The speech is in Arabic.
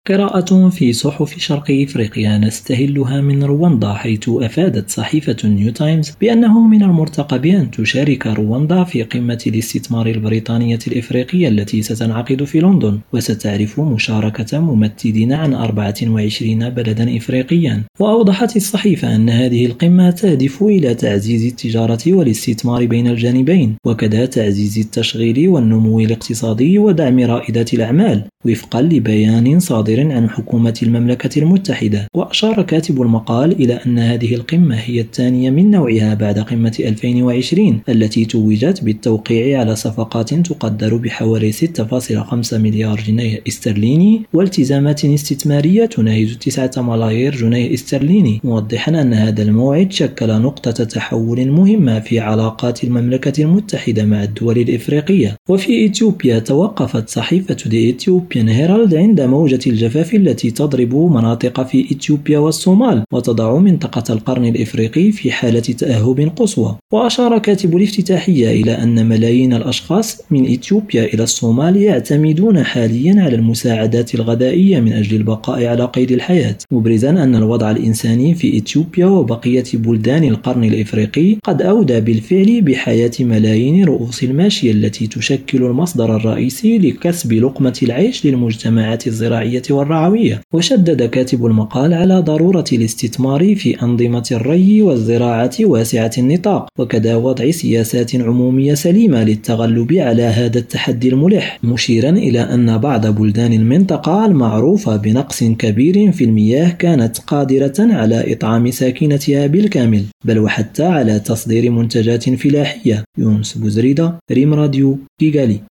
قراءة في صحف شرق إفريقيا نستهلها من رواندا، حيث أفادت صحيفة نيو تايمز بأنه من المرتقب أن تشارك رواندا في قمة الاستثمار البريطانية الإفريقية التي ستنعقد في لندن، وستعرف مشاركة ممثلين عن 24 بلدا إفريقيا. وأوضحت الصحيفة أن هذه القمة تهدف إلى تعزيز التجارة والاستثمار بين الجانبين، وكذا تعزيز التشغيل والنمو الاقتصادي ودعم رائدات الأعمال، وفقا لبيان صادر عن حكومة المملكة المتحدة. وأشار كاتب المقال إلى أن هذه القمة هي الثانية من نوعها بعد قمة 2020 التي توجت بالتوقيع على صفقات تقدر بحوالي 6.5 مليار جنيه استرليني والتزامات استثمارية تناهز 9 ملايير جنيه استرليني، موضحا أن هذا الموعد شكل نقطة تحول مهمة في علاقات المملكة المتحدة مع الدول الإفريقية. وفي إثيوبيا توقفت صحيفة The Ethiopian Herald عند موجة الجفاف التي تضرب مناطق في إثيوبيا والصومال وتضع منطقة القرن الإفريقي في حالة تأهب قصوى. وأشار كاتب الافتتاحية إلى أن ملايين الأشخاص من إثيوبيا إلى الصومال يعتمدون حاليا على المساعدات الغذائية من أجل البقاء على قيد الحياة، مبرزا أن الوضع الإنساني في إثيوبيا وبقية بلدان القرن الإفريقي قد أودى بالفعل بحياة ملايين رؤوس الماشية التي تشكل المصدر الرئيسي لكسب لقمة العيش للمجتمعات الزراعية والرعوية. وشدد كاتب المقال على ضرورة الاستثمار في أنظمة الري والزراعة واسعة النطاق، وكذا وضع سياسات عمومية سليمة للتغلب على هذا التحدي الملح، مشيرا إلى أن بعض بلدان المنطقة المعروفة بنقص كبير في المياه كانت قادرة على إطعام ساكنتها بالكامل، بل وحتى على تصدير منتجات فلاحية. يونس بوزريدة، ريم راديو، كيغالي.